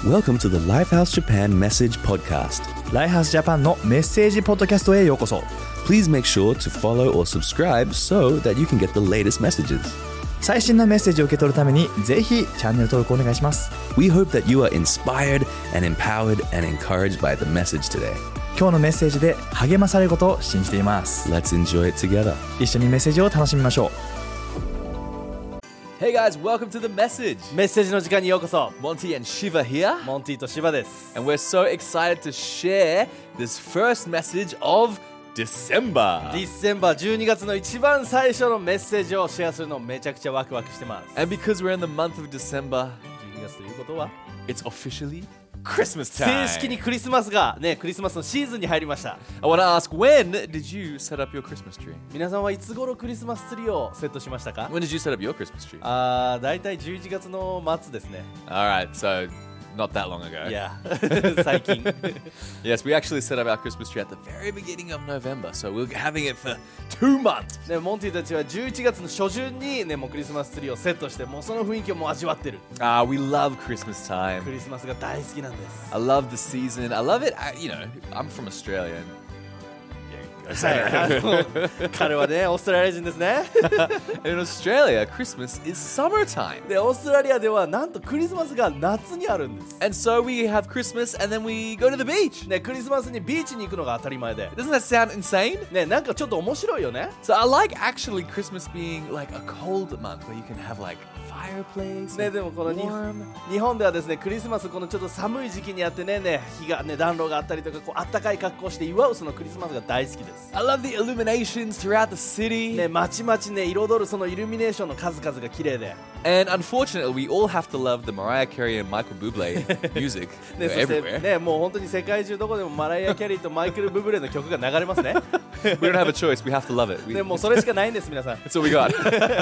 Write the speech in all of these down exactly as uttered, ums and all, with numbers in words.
Welcome to the Lifehouse Japan Message Podcast. ライハースジャパンのメッセージポッドキャストへようこそ。 Please make sure to follow or subscribe so that you can get the latest messages. 最新のメッセージを受け取るためにぜひチャンネル登録お願いします。 We hope that you are inspired and empowered and encouraged by the message today. 今日のメッセージで励まされることを信じています。 Let's enjoy it together. 一緒にメッセージを楽しみましょう。 Hey guys, welcome to the message. メッセージの時間にようこそ。 Monty and Shiva here, モンティとシバです。 and we're so excited to share this first message of December. ディセンバーじゅうにがつの一番最初のメッセージをシェアするのめちゃくちゃワクワクしてます。 And because we're in the month of December, じゅうにがつということは it's officially Christmas 正 time. 式にクリスマスがね、クリスマスのシーズンに入りました。 I want to ask, when did you set up your Christmas tree? 皆さんはいつ頃クリスマスツリーをセットしましたか？ When did you set up your Christmas tree? あー、だいたいじゅういちがつの末ですね。 Alright, so not that long ago. いや、最近。 Yes, we actually set up our Christmas tree at the very beginning of November, so we're having it for two months. ね、モンティたちはじゅういちがつの初旬にね、もうクリスマスツリーをセットして、もうその雰囲気をもう味わってる。 Ah, we love Christmas time. クリスマスが大好きなんです。 I love the season. I love it. I, you know, I'm from Australia. And, はい、あの彼はね、オーストラリア人ですね。 in Australia, Christmas is summertime. で、オーストラリアではなんとクリスマスが夏にあるんです。 And so we have Christmas and then we go to the beach. ね、クリスマスにビーチに行くのが当たり前で。 Doesn't that sound insane? ね、なんかちょっと面白いよね。 So I like actually Christmas being like a cold month where you can have like fireplace. ね、 and でもこの日 warm. 日本ではですね、クリスマスこのちょっと寒い時期にあってね、ね、日がね、暖炉があったりとか、こうあったかい格好をして祝うそのクリスマスが大好きです。 I love the illuminations throughout the city. ね、まちまちね、彩るそのイルミネーションの数々が綺麗で。 And unfortunately, we all have to love the Mariah Carey and Michael Bublé music ね、そして everywhere. ね、もう本当に世界中どこでもマライア・キャリーとマイケル・ブブレの曲が流れますね。 We don't have a choice. We have to love it. We, ね、もうそれしかないんです、皆さん。 That's all we got.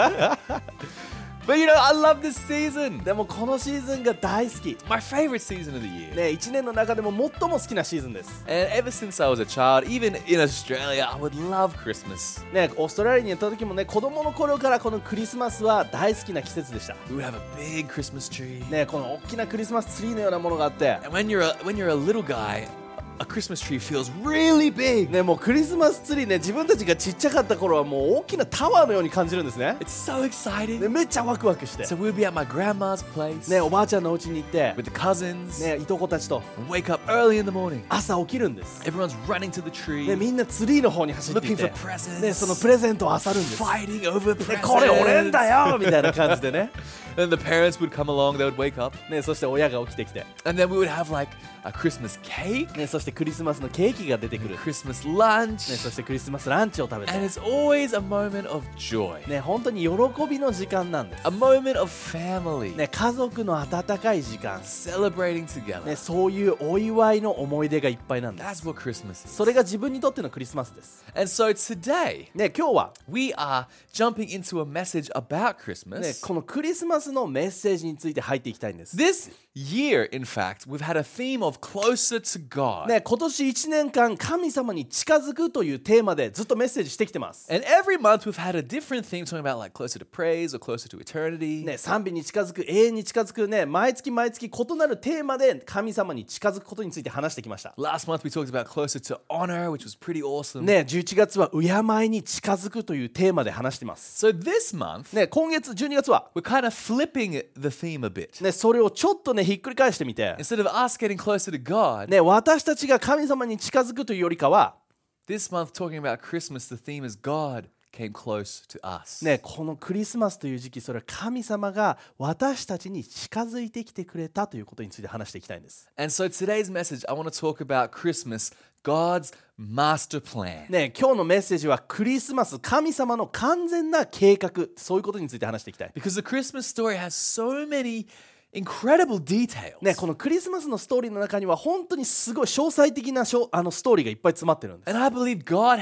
But you know, I love this season. でもこのシーズンが大好き。 My favorite season of the year. ね、いちねんの中でも最も好きなシーズンです。 And ever since I was a child, even in Australia, I would love Christmas. ね、オーストラリアに行った時もね、子供の頃からこのクリスマスは大好きな季節でした。 We would have a big Christmas tree. ね、この大きなクリスマスツリーのようなものがあって、 And when you're a, when you're a little guy, a Christmas tree feels really big. ね、もうクリスマスツリーね、自分たちがちっちゃかった頃はもう大きなタワーのように感じるんですね。 It's so exciting. ね、めっちゃワクワクして、 So we'd be at my grandma's place ね、おばあちゃんのお家に行って、 with the cousins ね、いとこたちと and wake up early in the morning. 朝起きるんです。 Everyone's running to the ね、 tree, みんなツリーの方に走ってい looking て、 for presents, ね、そのプレゼントを漁るんです。 fighting over ね、 presents. これ俺んだよみたいな感じでね。 And the parents would come along, they would wake up, ね、そして親が起きてきて、 and then we would have like a Christmas cake, ね、そしてクリスマスのケーキが出てくる。ね、 Christmas lunch, そしてクリスマスランチを食べて、 and it's always a moment of joy, ね、本当に喜びの時間なんです。 a moment of family, ね、家族の温かい時間、 celebrating together. ね、そういうお祝いの思い出がいっぱいなんです。 That's what Christmas is. それが自分にとってのクリスマスです。 And so today, ね、今日は、 we are jumping into a message about ね、 Christmas. このクリスマスのメッセージについて入っていきたいんです。 This year, in fact, we've had a theme of closer to God. ね、今年いちねんかん神様に近づくというテーマでずっとメッセージしてきてます。 And every month we've had a different theme talking about like closer to praise or closer to eternity. ね、賛美に近づく、永遠に近づくね、毎月毎月異なるテーマで神様に近づくことについて話してきました。 Last month we talked about closer to honor, which was pretty awesome. ね、じゅういちがつは敬いに近づくというテーマで話してます。 So this month, ね、今月じゅうにがつは、 we're kind of flipping the theme a bit. ね、それをちょっとね、ひっくり返してみて、 Instead of us getting closer to God, ね、私たちが神様に近づくというよりかは、 this month talking about Christmas, the theme is God came close to us. ね、このクリスマスという時期、それは神様が私たちに近づいてきてくれたということについて話していきたいんです。 And so today's message, I want to talk about Christmas, God's master plan. ね、今日のメッセージはクリスマス、神様の完全な計画、そういうことについて話していきたい。 Because the Christmas story has so many incredible details. ね、このクリスマスのストーリーの中には本当にすごい詳細的なしょあのストーリーがいっぱい詰まってるんです。 And I believe God has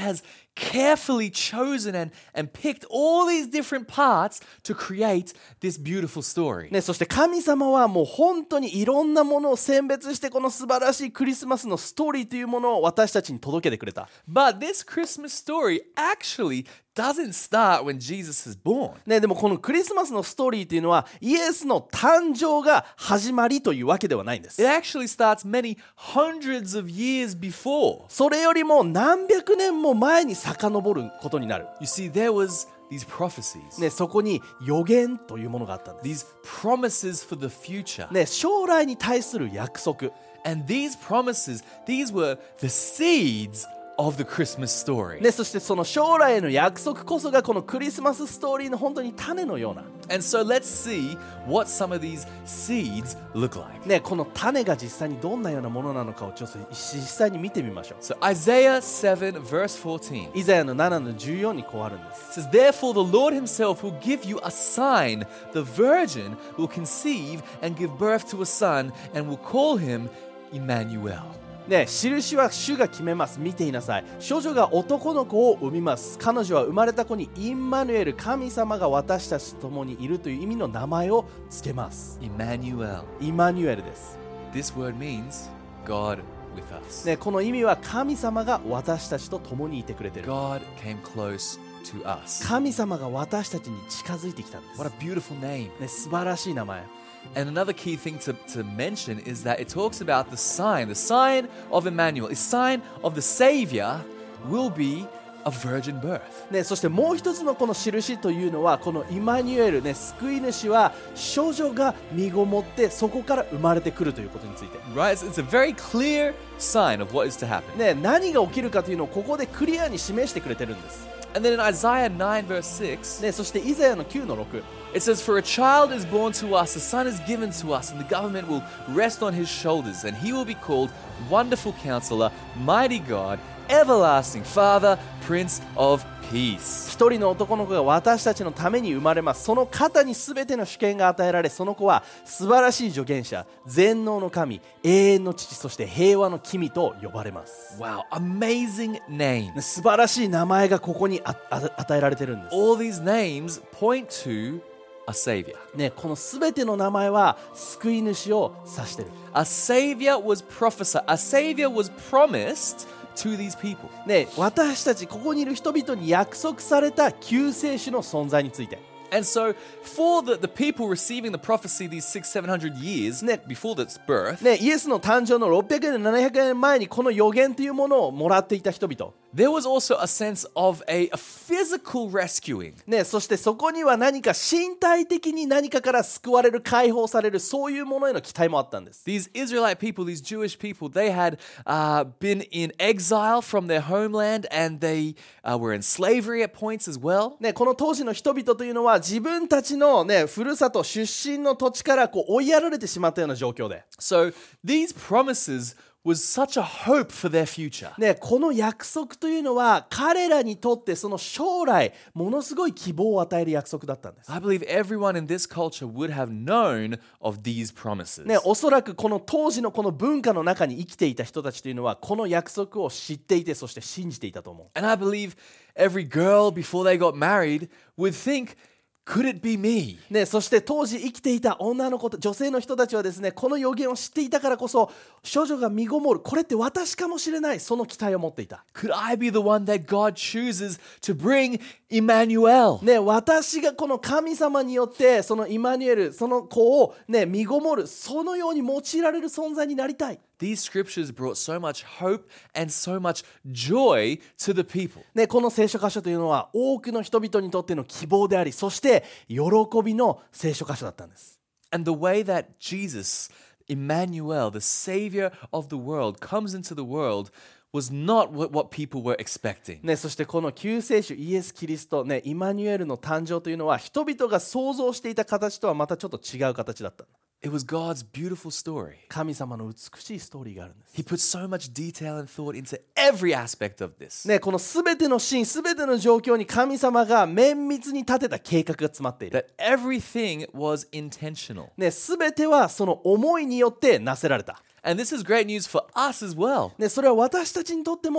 carefully chosen and, and picked all these different parts to create this beautiful story. ね、そして神様はもう本当にいろんなものを選別してこの素晴らしいクリスマスのストーリーというものを私たちに届けてくれた。 But this Christmas story actually doesn't start when Jesus is born. ね、でもこのクリスマスのストーリーというのはイエスの誕生が始まりというわけではないんです。 It actually starts many hundreds of years before. それよりも何百年も前に遡ることになる。 You see, there was these prophecies, ね、そこに予言というものがあったんです。 these promises for the future. ね、将来に対する約束。 And these promises, these were the seeds of the Christmas story. ね、そしてその将来への約束こそがこのクリスマスストーリーの本当に種のような。 And so let's see what some of these seeds look like. ね、この種が実際にどんなようなものなのかをちょっと実際に見てみましょう。 So Isaiah seven verse fourteen. イザヤのななのじゅうよんにこうあるんです。 It says, Therefore the Lord himself will give you a sign. The virgin will conceive and give birth to a son and will call him Emmanuel. ね、印は主が決めます。見ていなさい。少女が男の子を産みます。彼女は生まれた子にインマヌエル、神様が私たちと共にいるという意味の名前をつけます。 Emmanuel. イマニュエルです。 This word means God with us. ね、この意味は神様が私たちと共にいてくれている。 God came close to us. 神様が私たちに近づいてきたんです。 What a beautiful name. ね、素晴らしい名前。 And another key thing to, to mention is that it talks about the sign. The sign of Emmanuel, the sign of the Savior will be a virgin birth. ね、そしてもう一つのこの印というのはこのイマニュエル、ね、救い主は少女が身ごもってそこから生まれてくるということについて、 Right? It's, it's a very clear sign of what is to happen. ね、何が起きるかというのをここでクリアに示してくれてるんです。 And then in Isaiah nine verse six, ね、そしてイザヤのきゅうのろく、 it says, For a child is born to us, a son is given to us, and the government will rest on his shoulders, and he will be called Wonderful Counselor, Mighty God, Everlasting Father, Prince of Peace. 一人の男の子が私たちのために生まれます。その肩にすべての主権が与えられ、その子は素晴らしい助言者、全能の神、永遠の父、そして平和の君と呼ばれます。 Wow, amazing name. ね、素晴らしい名前がここにああ与えられてるんです。 All these names point to a Savior. ね、このすべての名前は救い主を指してる。 A Savior was prophesied. A Savior was promised to these people. ね、私たちここにいる人々に約束された救世主の存在について。 And so, for the, the people receiving the prophecy these six, seven hundred years before its birth, ね、イエスの誕生のろっぴゃくねん、ななひゃくねんまえにこの予言というものをもらっていた人々。 there was also a sense of a, a physical rescuing. ね、そしてそこには何か身体的に何かから救われる、解放される、そういうものへの期待もあったんです。 These Israelite people, these Jewish people, they had uh, been in exile from their homeland and they uh, were in slavery at points as well. ね、この当時の人々というのは自分たちの、ね、ふるさと出身の土地からこう追いやられてしまったような状況で、 So these promises was such a hope for their future. ね、この約束というのは彼らにとってその将来ものすごい希望を与える約束だったんです。 I believe everyone in this culture would have known of these promises. ね、おそらくこの当時のこの文化の中に生きていた人たちというのはこの約束を知っていて、そして信じていたと思う。 And I believe every girl before they got married would think, could it be me? ね、そして当時生きていた女の子、女性の人たちはですね、この予言を知っていたからこそ少女が身ごもる、これって私かもしれない、その期待を持っていた。 Could I be the one that God chooses to bring Emmanuel? ね、私がこの神様によってそのイマニュエル、その子を、ね、身ごもる、そのように用いられる存在になりたい。 These scriptures brought so much hope and so much joy to the people. ね、この聖書箇所というのは多くの人々にとっての希望であり、そして喜びの聖書箇所だったんです。 And the way that Jesus, Emmanuel, the Savior of the world, comes into the world was not what, what people were expecting. ね、そしてこの救世主イエス・キリスト、ね、イマニュエルの誕生というのは人々が想像していた形とはまたちょっと違う形だった。 It was God's beautiful story. 神様の美しいストーリーがあるんです。 He put so much detail and thought into every aspect of this. ね、このすべてのシーン、すべての状況に神様が綿密に立てた計画が詰まっている。 That everything was intentional. ね、すべてはその思いによってなせられた。 And this is great news for us as well. ね、それは私たちにとっても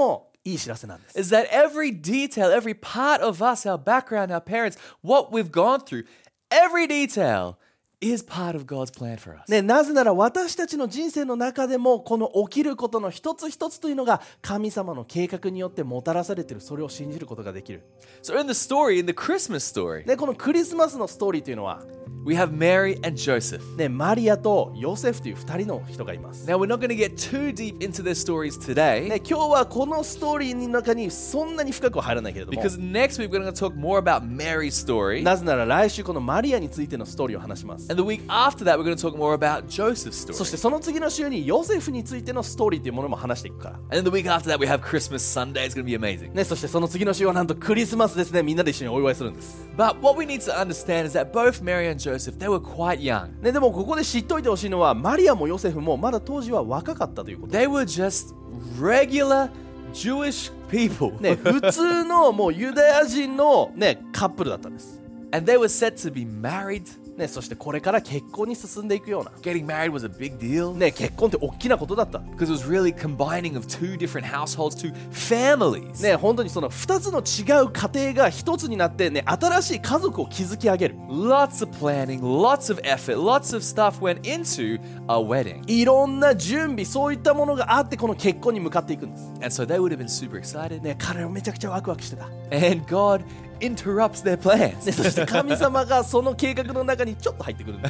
いい知らせなんです。 is that every detail, every part of us, our background, our parents, what we've gone through, every detail is part of God's plan for us. ね、なぜなら私たちの人生の中でもこの起きることの一つ一つというのが神様の計画によってもたらされている、それを信じることができる。 So in the story, in the Christmas story, ね、このクリスマスのストーリーというのは、 we have Mary and Joseph. ね、マリアとヨセフというふたりの人がいます。 Now, we're not going to get too deep into their stories today, ね、今日はこのストーリーの中にそんなに深くは入らないけれども、 because next week we're going to talk more about Mary's story. なぜなら来週このマリアについてのストーリーを話します。 And the week after that, we're going to talk more about Joseph's そし story. てその次の週にヨセフについてのストーリーというものも話していくから、 And then the week after that, we have Christmas Sunday. It's going to be amazing. ね、そしてその次の週はなんとクリスマスですね。みんなで一緒にお祝いするんです。 But what we need to understand is that both Mary and Joseph, they were quite young. ね、でもここで知っておいてほしいのは、マリアもヨセフもまだ当時は若かったということ。 They were just regular Jewish people. ね、普通のもうユダヤ人の、ね、カップルだったんです。 And they were set to be married. ね、そしてこれから結婚に進んでいくような、 Getting married was a big deal ね、結婚って大きなことだった。 because it was really combining of two different households, two families. ね、本当にそのふたつの違う家庭がひとつになって、ね、新しい家族を築き上げる。 Lots of planning, lots of effort, lots of stuff went into a wedding. いろんな準備、そういったものがあってこの結婚に向かっていくんです。 And so they would have been super excited. ね、彼はめちゃくちゃワクワクしてた。 And God interrupts their plans. ね、そして神様がその計画の中にちょっと入ってくるんです。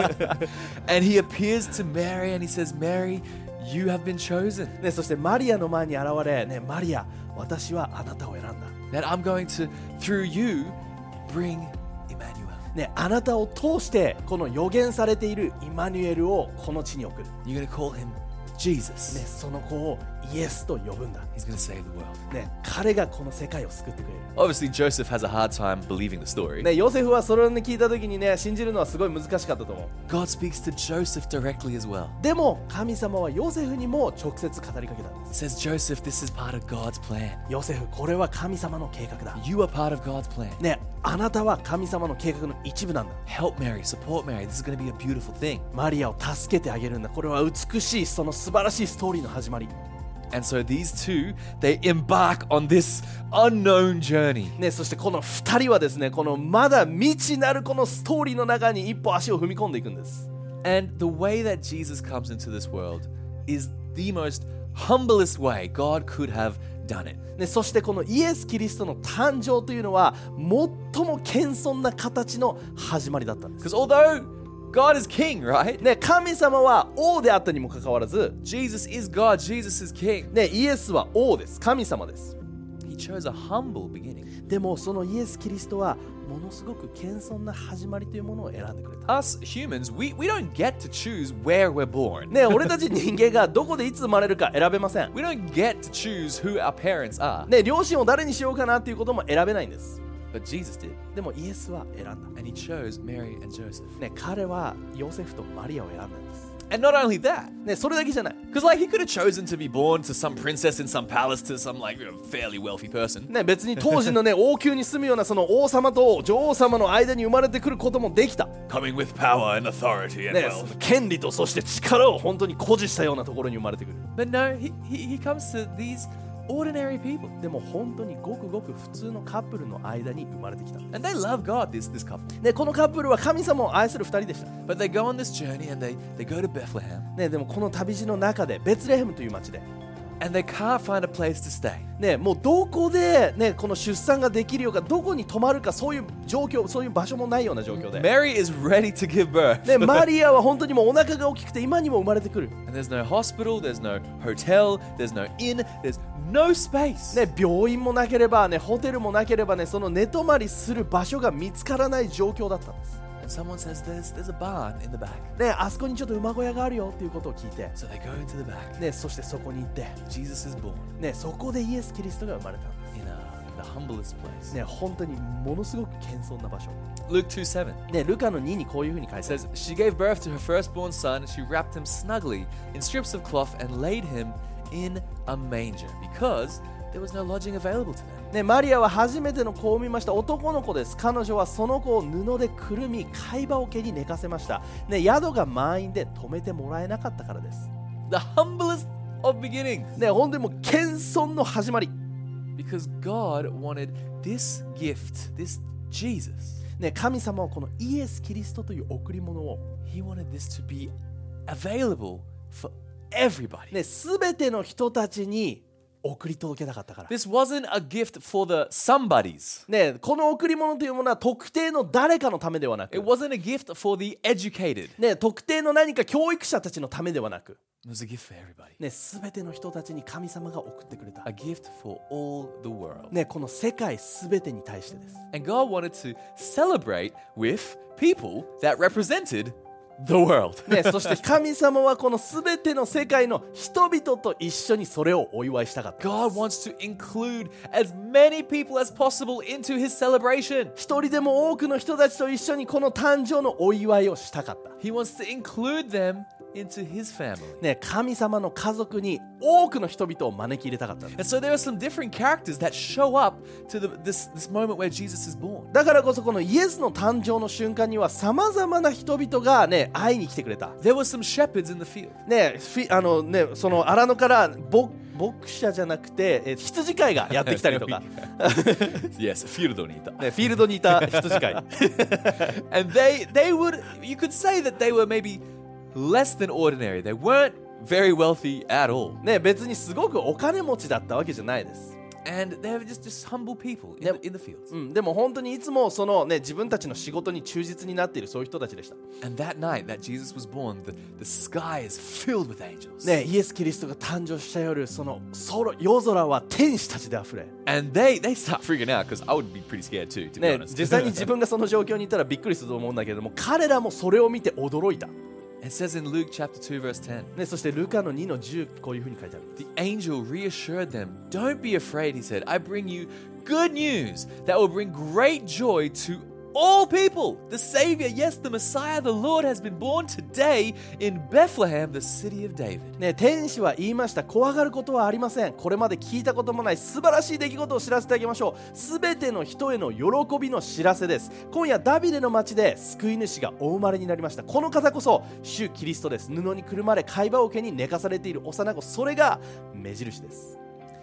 And he appears to Mary and he says, Mary, you have been chosen. ね、そしてマリアの前に現れ、ね、マリア、私はあなたを選んだ。 That I'm going to, through you, bring Emmanuel. ね、あなたを通してこの予言されているイマニュエルをこの地に送る。 You're going to call him Jesus. ね、その子をイエスと呼ぶんだ。 He's going to save the world. ね、彼がこの世界を救ってくれる。 Obviously, Joseph has a hard time believing the story. ね、ヨセフはそれを聞いた時にね、信じるのはすごい難しかったと思う。 God speaks to Joseph directly as well. でも神様はヨセフにも直接語りかけたんです。 Says, Joseph, this is part of God's plan. ヨセフ、これは神様の計画だ。 You are part of God's plan. ね、あなたは神様の計画の一部なんだ。 Help Mary, support Mary. This is going to be a beautiful thing. マリアを助けてあげるんだ。これは美しい、その素晴らしいストーリーの始まり。 And so these two, they embark on this unknown journey. ね、そしてこのふたりはですね、このまだ未知なるこのストーリーの中に一歩足を踏み込んでいくんです。 And the way that Jesus comes into this world is the most humblest way God could have done it. ね、そしてこのイエス・キリストの誕生というのは最も謙遜な形の始まりだったんです。 Because although God is king, right? ね、神様は王であったにもかかわらず、 Jesus is God, Jesus is king. ね、イエスは王です。神様です。 He chose a humble beginning. でもそのイエス・キリストはものすごく謙遜な始まりというものを選んでくれた。 Us humans, we, we don't get to choose where we're born. ね、俺たち人間がどこでいつ生まれるか選べません。 We don't get to choose who our parents are. ね、両親を誰にしようかなっていうことも選べないんです。 But Jesus did. でもイエスは選んだ。 And he chose Mary and Joseph. ね、彼はヨセフとマリアを選んだんです。 And not only that, ね、それだけじゃない。 because like he could have chosen to be born to some princess in some palace to some like you know, fairly wealthy person. ね、別に当時のね王宮に住むようなその王様と女王様の間に生まれてくることもできた。 Coming with power and authority and ね、その権利とそして力を本当に誇示したようなところに生まれてくる。 But no, he, he, he comes to these ordinary people. でも本当にごくごく普通のカップルの間に生まれてきた。 And they love God, this, this couple. ね、このカップルは神様を愛するふたりでした。 But they go on this journey and they, they go to Bethlehem. ね、でもこの旅路の中でベツレヘムという町で、 And they can't find a place to stay. ね、もうどこで、ね、この出産ができるようか、どこに泊まるか、そういう状況、そういう場所もないような状況で、 Mary is ready to give birth. ね、マリアは本当にもうお腹が大きくて今にも生まれてくる。 And there's no hospital, there's no hotel, there's no inn, there's no space. ね、病院もなければ、ね、ホテルもなければ、ね、その寝泊まりする場所が見つからない状況だったんです。 And someone says there's, there's a barn in the back. ね、あそこにちょっと馬小屋があるよっていうことを聞いて、 So they go into the back. ね、そしてそこに行って、 Jesus is born ね、そこでイエス・キリストが生まれたんで in a, the humblest place. す。ね、本当にものすごく謙遜な場所。 Luke two seven ね、ルカのににこういうふうに書いてある。 says, She gave birth to her firstborn son, and she wrapped him snugly in strips of cloth and laid him in a manger because there was no lodging available to them. ね、マリアは初めての子を産みました。男の子です。彼女はその子を布でくるみ、貝羽桶に寝かせました。ね、宿が満員で泊めてもらえなかったからです。 The humblest of beginnings. ね、本当にもう謙遜の始まり。 Because God wanted this gift, this Jesus, ね、神様はこのイエス・キリストという贈り物を、 He wanted this to be available for everybody. ね、全ての人たちに送り届けたかったから。 This wasn't a gift for the somebodies. ね、この贈り物というものは特定の誰かのためではなく、 It wasn't a gift for the educated. ね、特定の何か教育者たちのためではなく、 It was a gift for everybody. ね、全ての人たちに神様が送ってくれた A。gift for all the world. ね、この世界全てに対してです。 And God wanted to celebrate with people that represented the world. ね、そして神様はこの全ての世界の人々と一緒にそれをお祝いしたかったん God です。 wants to include as many people as possible into his celebration. 一人でも多くの人たちと一緒にこの誕生のお祝いをしたかった。 He wants to include them into his family. ね、神様の家族に多くの人々を招き入れたかったんです。 And so there are some different characters that show up to the, this, this moment where Jesus is born. だからこそこのイエスの誕生の瞬間にはさまざまな人々がね会いに来てくれた。 There were some shepherds in the field. ね、フィあのねその荒野から牧牧者じゃなくてえ羊飼いがやってきたりとか、 Yes, fieldにいた。 ね、フィールドにいた羊飼い。 And they, they would, you could say that they were maybe less than ordinary. They weren't very wealthy at all. ね、別にすごくお金持ちだったわけじゃないです。 And they were just, just humble people in, Yep. the, in the fields. うん、でも本当にいつもその、ね、自分たちの仕事に忠実になっているそういう人たちでした。 And that night that Jesus was born, the, the sky is filled with angels. ね、イエス・キリストが誕生した夜、その空夜空は天使たちであふれ、 And they, they start freaking out because I would be pretty scared too, to be ね、 honest. 実際に自分がその状況にいたらびっくりすると思うんだけれども、彼らもそれを見て驚いた。 It says in Luke chapter two, verse ten, ね、そしてルカのにのじゅう、こういうふうに書いてある。 the angel reassured them, Don't be afraid, he said. I bring you good news that will bring great joy to all people. The Savior, yes, the Messiah, the Lord has been born today in Bethlehem, the city of David. ね、天使は言いました。怖がることはありません。これまで聞いたこともない素晴らしい出来事を知らせてあげましょう。すべての人への喜びの知らせです。今夜ダビデの町で救い主がお生まれになりました。この方こそ主キリストです。布にくるまれ貝羽桶に寝かされている幼子、それが目印です。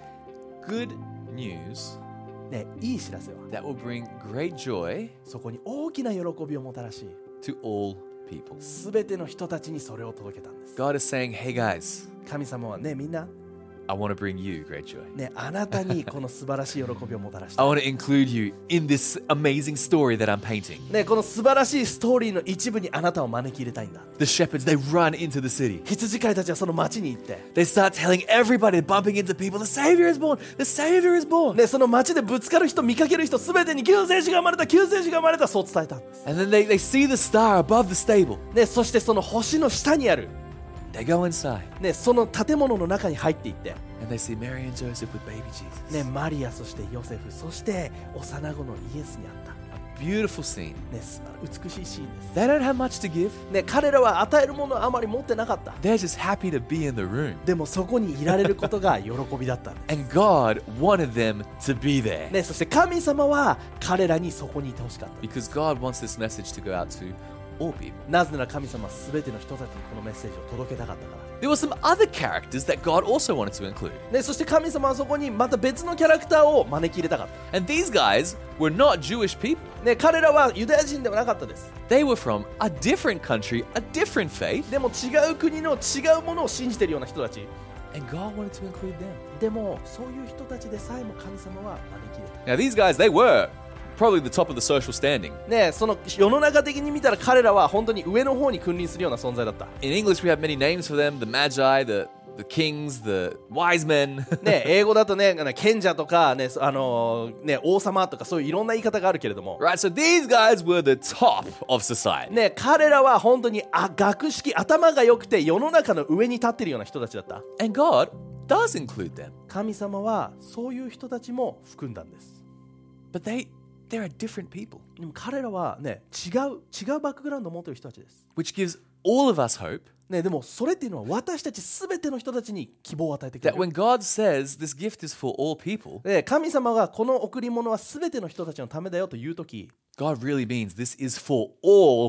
Good news ね、いい知らせは that will bring great joy そこに大きな喜びをもたらし、 to all people. すべての人たちにそれを届けたんです。 God is saying, Hey guys, 神様はね、みんな I want to bring you great joy. ね、あなたにこの素晴らしい喜びをもたらし I た。 want to include you in this amazing story that I'm painting. ね、この素晴らしいストーリーの一部にあなたを招き入れたいんだ。 The shepherds, they run into the city. 羊飼いたちはその町に行って、 They start telling everybody, bumping into people, the Savior is born, the Savior is born. ね、その町でぶつかる人、見かける人、すべてに救世主が生まれた、救世主が生まれた、そう伝えたんです。 And then they, they see the star above the stable. ね、そしてその星の下にある、 They go inside ね、その建物の中に入っていって、 and they see Mary and Joseph with baby Jesus. ね、マリア、そしてヨセフ、そして幼子のイエスにあった、 Beautiful scene. ね、す美しいシーンです。 They don't have much to give. ね、彼らは与えるものをあまり持ってなかった。 They're just happy to be in the room. でもそこにいられることが喜びだったんです。 And God wanted them to be there. ね、そして神様は彼らにそこにいてほしかった。 Because God wants this message to go out to all people. なぜなら神様はすべての人たちにこのメッセージを届けたかったから。 There were some other characters that God also wanted to include. ね、そして神様はそこにまた別のキャラクターを招き入れたかった。 And these guys were not Jewish people. ね、彼らはユダヤ人ではなかったです。 They were from a different country, a different faith. でも違う国の違うものを信じているような人たち。 And God wanted to include them. でもそういう人たちでさえも神様は招き入れ Now, these guys, they were probably the top of the social standing. た。ね、その世の中的に見たら彼らは本当に上の方に君臨するような存在だった。 In English, we have many names for them: the Magi, the the kings, the wise men. ね、英語だとね、賢者とかね、あのーね、王様とかそういういろんな言い方があるけれども。 Right, so these guys were the top of society. ね、彼らは本当にあ学識、頭が良くて世の中の上に立っているような人たちだった。 And God does include them. 神様はそういう人たちも含んだんです。 But they, they're different people, でも彼らはね、違う、違うバックグラウンドを持っている人たちです。 which gives all of us hope ね、でもそれっていうのは私たちすべての人たちに希望を与えてくれ that る。 when God says this gift is for all people, ね、神様がこの贈り物はすべての人たちのためだよというとき、 God really means this is for all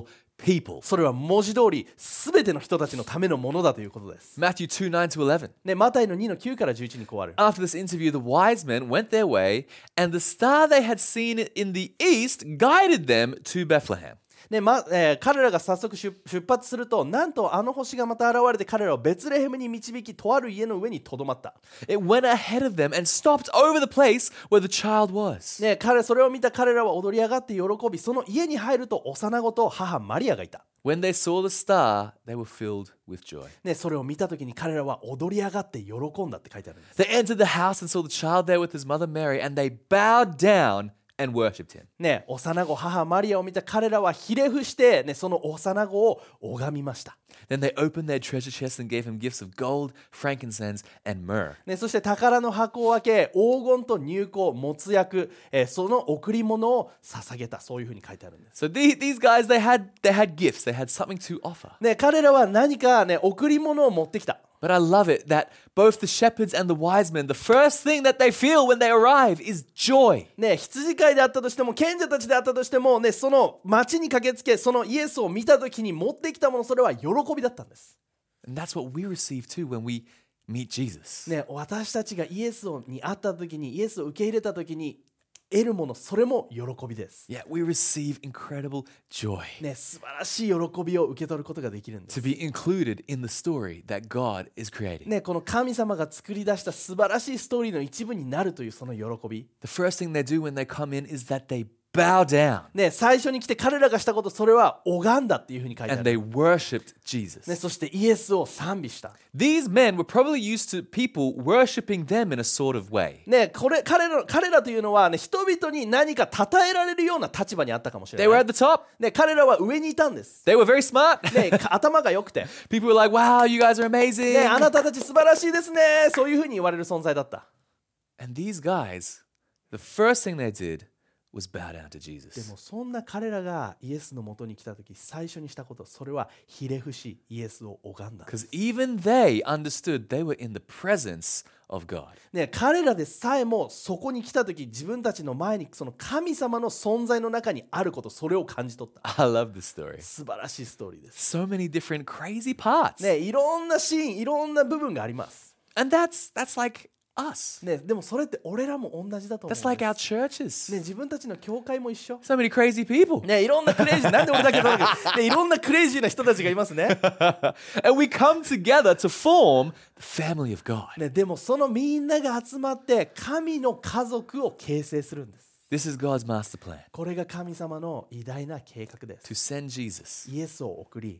people. それは文字通り全ての人たちのためのものだということです。 Matthew two nine to eleven. ね、マタイのにのきゅうからじゅういちにこうある。 After this interview, the wise men went their way, and the star they had seen in the east guided them to Bethlehem. ねまえー、彼らが早速出出発すると、なんとあの星がまた現れて彼らをベツレヘムに導き、とある家の上にとどまった。 It went ahead of them and stopped over the place where the child was. ね、彼それを見た彼らは踊り上がって喜び、その家に入ると幼子と母マリアがいた。 When they saw the star, they were filled with joy. ね、それを見たときに彼らは踊り上がって喜んだって書いてあるんです。 They entered the house and saw the child there with his mother Mary, and they bowed down and worshipped him. ね、幼子母マリアを見た彼らはひれ伏して、ね、その幼子を拝みました。 Then they opened their treasure chests and gave him gifts of gold, frankincense, and myrrh. ね、そして宝の箱を開け、黄金と乳香、没薬、えー、その贈り物を捧げた。そういうふうに書いてあるんです。 So these, these guys, they had, they had gifts. They had something to offer. ね、彼らは何か、ね、贈り物を持ってきた。 But I love it that both the shepherds and the wise men, the first thing that they feel when they arrive is joy. ね、羊飼いであったとしても、賢者たちであったとしても、ね、その町に駆けつけ、そのイエスを見たときに持ってきたもの、それは喜びだったんです。 And that's what we receive too when we meet Jesus. ね、私たちがイエスに会ったときに、イエスを受け入れたときに得るもの、それも喜びです。 Yeah, we receive incredible joy ね、素晴らしい喜びを受け取ることができるんです。 to be included in the story that God is creating. ね、この神様が作り出した素晴らしいストーリーの一部になるというその喜び。 The first thing they do when they come in is that they bow down ね、最初に来て彼らがしたこと、それは拝んだっていうふうに書いてあ and る。 they worshipped Jesus. ね、そしてイエスを賛美した。 These men were probably used to people worshiping them in a sort of way. ね、これ彼ら彼らというのは、ね、人々に何か称えられるような立場にあったかもしれ They な were い。 at the top. ね、彼らは上にいたんです。 They were very smart. ね、か頭が良くて、 People were like, wow, you guys are ね、あ amazing. なたたち素晴らしいですね、そういうふうに言われる存在だった。 And these guys, the first thing they did was bow down to で Jesus. もそんな彼らがイエスのもとに来た時、最初にしたこと、それはひれ伏しイエスを拝んだんです。 Because even they understood they were in the presence of God. ね、彼らでさえもそこに来た時、自分たちの前にその神様の存在の中にあること、それを感じ取った。 I love this story. 素晴らしいストーリーです。 So many different crazy parts. ね、いろんなシーン、いろんな部分があります。 And that's that's like us. ね、でもそれって俺らも同じだと思うんで That's す。 like our churches. ね、自分たちの教会も一緒。 So many crazy people. ね、いろんなクレイジー、なんで俺だけだけど、ね、いろんなクレイジーな人たちがいますね。 And we come together to form the family of God. ね、でもそのみんなが集まって神の家族を形成するんです。 This is God's master plan これが神様の偉大な計画で to す。 send Jesus. イエスを送り、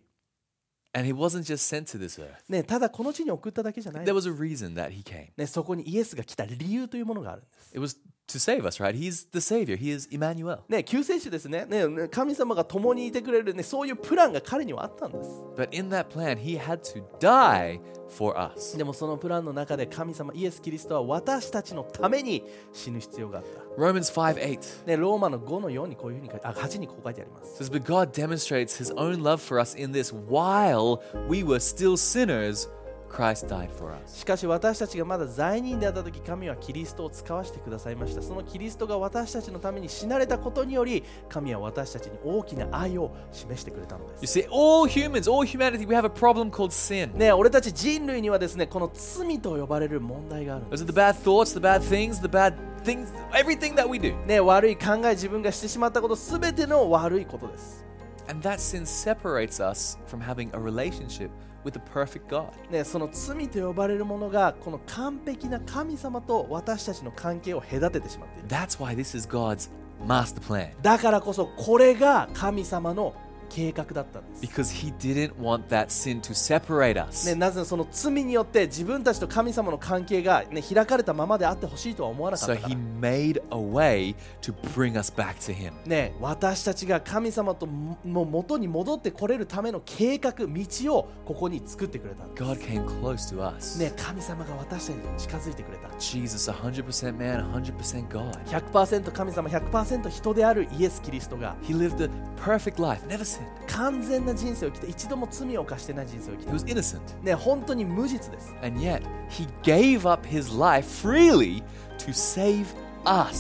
And he wasn't just sent to this earth. ね、ただこの地に送っただけじゃない。 There was a reason that he came. ね、そこにイエスが来た理由というものがあるんです。 It was to save us, right? He's the Savior. He is Emmanuel. ね、救世主ですね。ね、ね、神様が共にいてくれる、ね、そういうプランが彼にはあったんです。 But in that plan, he had to die for us. でもそのプランの中で神様イエス・キリストは私たちのために死ぬ必要があった。 Romans five eight ね、ローマのごのよんにこういうふうに書いて、あ、はちにこう書いてあります。 says, But God demonstrates his own love for us in this while we were still sinners, Christ died for us. しかし私たちがまだ罪人であった時、神はキリストを使わせてくださいました。そのキリストが私たちのために死なれたことにより、神は私たちに大きな愛を示してくれたので You す。 see, all humans, all humanity, we have a problem called sin. ね、俺たち人類にはですね、この罪と呼ばれる問題があるんです。 Those are the bad thoughts, the bad things, the bad things, everything that we do. ね、悪い考え、自分がしてしまったこと、すべての悪いことです。 And that sin separates us from having a relationship with the perfect God. ね、その罪と呼ばれるものがこの完璧な神様と私たちの関係を隔ててしまっている。 That's why this is God's master plan. だからこそこれが神様の計画だったんです。 Because he didn't want that sin to separate ね、 us. なぜならその罪によって自分たちと神様の関係が、ね、開かれたままであってほしいとは思わなかっ So たから he made a way to bring us back to him. ね、私たちが神様との元に戻ってこれるための計画、道をここに作ってくれたんです。 God came close to us. ね、神様が私たちに近づいてくれた。 Jesus, one hundred percent man, one hundred percent God. ひゃくパーセント 神様、ひゃくパーセント 人であるイエス・キリストが He lived a perfect life, never sinned. 完全な人生を生きて、一度も罪を犯してない人生を生き He was て、 innocent. ね、本当に無実です。 And yet, he gave up his life freely to save us.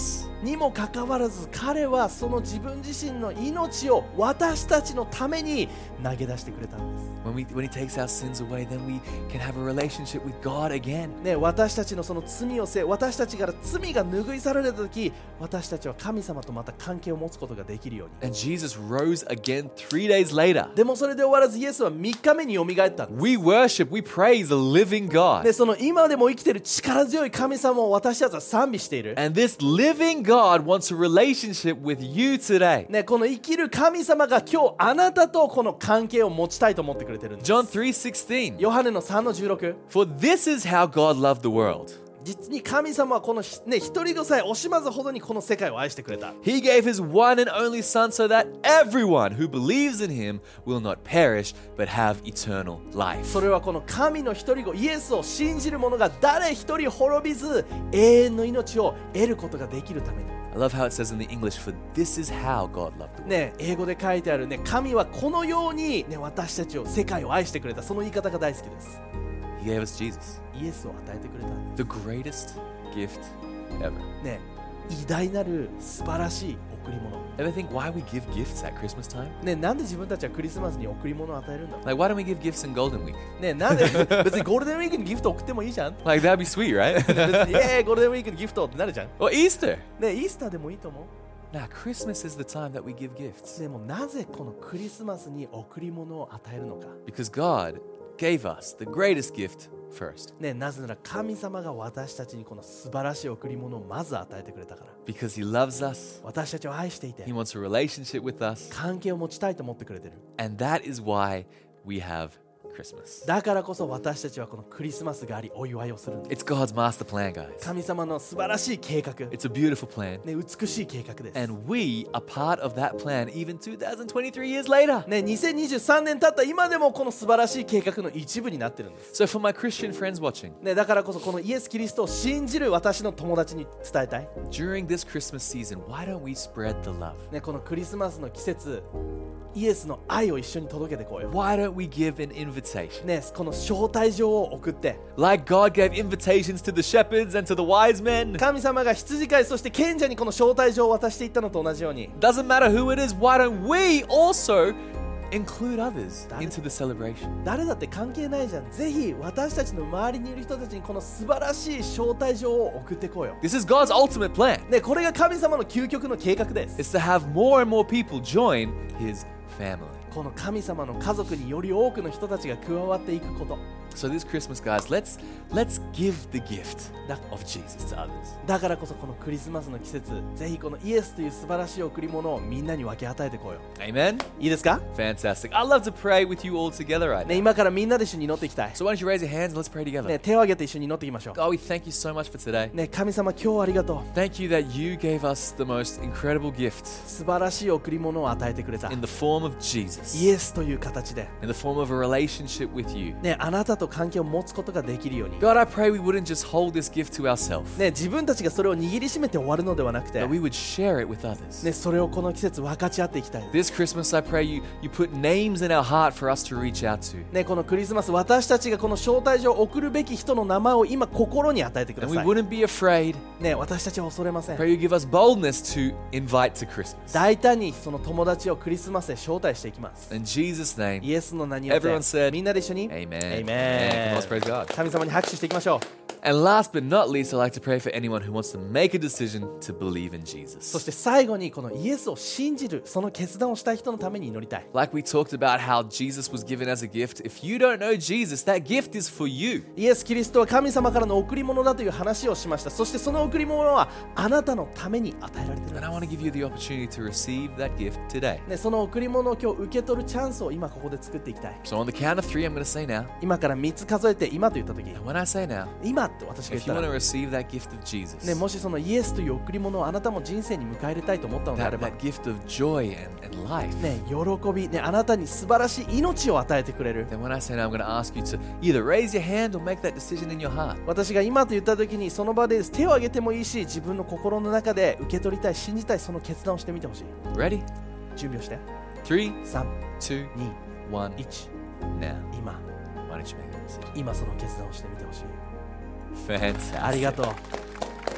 にもかかわらず彼はその自分自身の命を私たちのために投げ出してくれたんです。 When, we, when He takes our sins away, then we can have a relationship with God again. ね、私たちのその罪を背負い、私たちから罪が拭い去られた時、私たちは神様とまた関係を持つことができるように。 And Jesus rose again three days later. でもそれで終わらずイエスはみっかめによみがえったんです。 We worship, we praise the living God. でその今でも生きている力強い神様を私たちは賛美している。 And this living God wants a relationship with you today. ね、この生きる神様が今日あなたとこの関係を持ちたいと思ってくれてるんです。 John three sixteen. ヨハネのさんのじゅうろく。 For this is how God loved the world. 実に神様はこの、ね、一人子さえ惜しまずほどにこの世界を愛してくれた。 He gave His one and only Son so that everyone who believes in Him will not perish but have eternal life. それはこの神の一人子イエスを信じる者が誰一人滅びず永遠の命を得ることができるために。 I love how it says in the English, for this is how God loved the world. ね、英語で書いてあるね、神はこのように、ね、私たちを世界を愛してくれた。その言い方が大好きです。 He gave us Jesus, イエスを与えてくれた。 the greatest gift ever. ね、偉大なる素晴らしい贈り物。 Ever think why we give gifts at Christmas time? ね、なんで自分たちはクリスマスに贈り物を与えるんだろ Like, why don't we give gifts in Golden Week? う。ね、なんで別にゴールデンウィークにギフト送ってもいいじゃん。 Like, that'd be sweet, right? 別にえーゴールデンウィークにギフトってなるじゃん。 Or Easter. ね、イースターでもいいと思う。 Now, Christmas is the time that we give gifts でもなぜこのクリスマスに贈り物を与えるのか。 because God gave us the greatest gift first. ね、なぜなら神様が私たちにこの素晴らしい贈り物をまず与えてくれたから。 Because He loves us, 私たちを愛していて He wants a relationship with us, 関係を持ちたいと思ってくれてる。 and that is why we have Christmas. だからこそ私たちはこのクリスマスがありお祝いをするんです。 It's God's master plan, guys. 神様の素晴らしい計画、 It's a beautiful plan, ね、美しい計画です。 and we are part of that plan even two thousand twenty-three years later. ね、にせんにじゅうさんねん経った今でもこの素晴らしい計画の一部になってるんです。 So, for my Christian friends watching, ね、だからこそこのイエス・キリストを信じる私の友達に伝えたい。 during this Christmas season, why don't we spread the love? ね、このクリスマスの季節、イエスの愛を一緒に届けてこうよ。 Why don't we give an invitation? ね、この招待状を送って、 Like God gave invitations to the shepherds and to the wise men. 神様が羊飼いそして賢者にこの招待状を渡していったのと同じように、 Doesn't matter who it is, why don't we also include others into the celebration? 誰だって関係ないじゃん。ぜひ私たちの周りにいる人たちにこの素晴らしい招待状を送ってこうよ。 This is God's ultimate plan. ね、これが神様の究極の計画です。 It's to have more and more people join His family. この神様の家族により多くの人たちが加わっていくこと。 So this Christmas, guys, let's let's give the gift That- of Jesus to others. だからこそこのクリスマスの季節、ぜひこのイエスという素晴らしい贈り物をみんなに分け与えてこうよ。 Amen? いいですか？ Fantastic. I'd love to pray with you all together right ね、 now. 今からみんなで一緒に祈っていきたい。 So why don't you raise your hands and let's pray together. ね、手を挙げて一緒に祈っていきましょう。 God, we thank you so much for today. ね、神様今日はありがとう。 Thank you that you gave us the most incredible gift 素晴らしい贈り物を与えてくれた。 in the form of Jesus, イエスという形で、 in the form of a relationship with you. ね、あなたと関係を持つことができるように。 God, I pray we wouldn't just hold this gift to ourselves, ね、自分たちがそれを握りしめて終わるのではなくて、 but we would share it with others. ね、それをこの季節分かち合っていきたい。 This Christmas, I pray you, you put names in our heart for us to reach out to. ね、このクリスマス、私たちがこの招待状を送るべき人の名前を今心に与えてくだ And we さい。 wouldn't be afraid. ね、私たちは恐れません。 Pray you give us boldness to invite to Christmas. 大胆にその友達をクリスマスへ招待していきます。 In Jesus' name, イエスの名によって Everyone said, みんなで一緒に Amen. Amen. Amen. Come on, let's praise God. 神様に拍手していきましょう。 And last but not least, I'd like to pray for anyone who wants to make a decision to believe in そ Jesus. して最後にこのイエスを信じるその決断をしたい人のために祈りたい。 Like we talked about how Jesus was given as a gift, if you don't know Jesus, that gift is for you. イエス・キリストは神様からの贈り物だという話をしました。そしてその贈り物はあなたのために与えられているん And I で want to give you the opportunity to receive that gift today. す。ね、その贈り物を今日受け取るチャンスを今ここで作っていきたい。 So on the count of three, I'm going to say now. 今からみっつ数えて今と言った時、 And when I say now, 今って私が言っ if た you want ら、 to receive that gift of Jesus, ね、もしそのイエスという贈り物をあなたも人生に迎え入れたいと思ったのであ that, れば、 that gift of joy and, and life, ね、喜び、ね、あなたに素晴らしい命を与えてくれる。 then when I say now, I'm going to ask you to either raise your hand or make that decision in your heart. 私が今と言った時にその場で手を挙げてもいいし、自分の心の中で受け取りたい、信じたい、その決断をしてみてほしい。 Ready? 準備をして。 Three, さん、 two, に、 one. いち、 Now, 今、 why don't you make that decision? 今その決断をしてみてほしい。 Fantastic. ありがとう。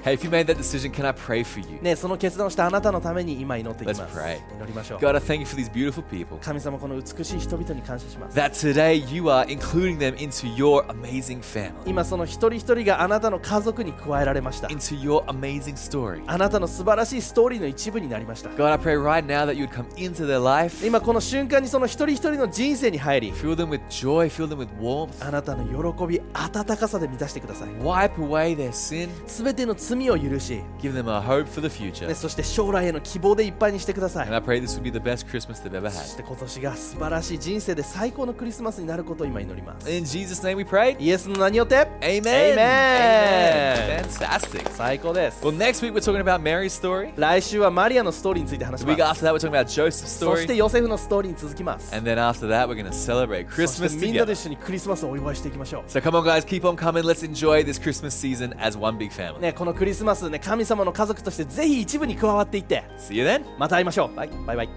Hey, if you made that decision, can I pray for you? ね、その決断をしたあなたのために今祈っていきます。 Let's pray. 祈りましょう。 God, I thank you for these beautiful people. 神様、この美しい人々に感謝します。 That today you are including them into your amazing family, 今その一人一人があなたの家族に加えられました。 into your amazing story. あなたの素晴らしいストーリーの一部になりました。 God, I pray right now that you would come into their life, 今この瞬間にその一人一人の人生に入り、 fill them with joy, fill them with warmth, あなたの喜び、温かさで満たしてください。 wipe away their sin, すべての罪を許し、 give them a hope for the future. ね、そして将来への希望でいっぱいにしてください。 And I pray this would be the best Christmas they've ever そ had. して今年が素晴らしい人生で最高のクリスマスになることを今祈ります。 In Jesus' name we pray. イエスの名によって Amen. Amen. Amen. Fantastic. 最高です。 Well, next week we're talking about Mary's story. 来週はマリアのストーリーについて話し The ま week す。 after that we're talking about Joseph's そして story. ヨセフのストーリーに続きます。 And then after that we're going to celebrate そし Christmas てみんなで together. 一緒にクリスマスをお祝いしていきましょ So come on guys, keep on coming. Let's enjoy this Christmas season as one big う。 family. ね、このクリスマスね、神様の家族としてぜひ一部に加わっていって、 See you then. また会いましょう。バイバイバイ。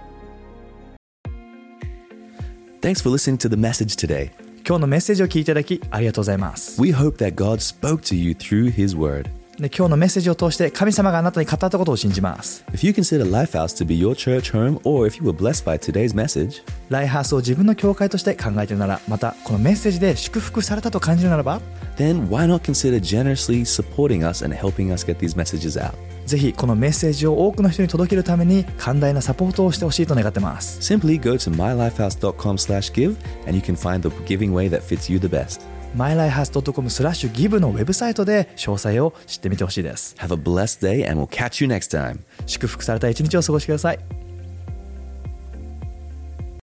Thanks for listening to the message today. 今日のメッセージを聞いていただきありがとうございます。 We hope that God spoke to you through His Word. で今日のメッセージを通して神様があなたに語ったことを信じます。 If you consider Lifehouse to be your church home, or if you were blessed by today's message, ライハースを自分の教会として考えているなら、またこのメッセージで祝福されたと感じるならば、 then why not consider generously supporting us and helping us get these messages out? ぜひこのメッセージを多くの人に届けるために寛大なサポートをしてほしいと願ってます。 Simply go to my lifehouse dot com slash give, and you can find the giving way that fits you the best. マイライハース ドットコム スラッシュ ギブ のウェブサイトで詳細を知ってみてほしいです。 Have a blessed day, and we'll catch you next time. 祝福された一日を過ごしてください。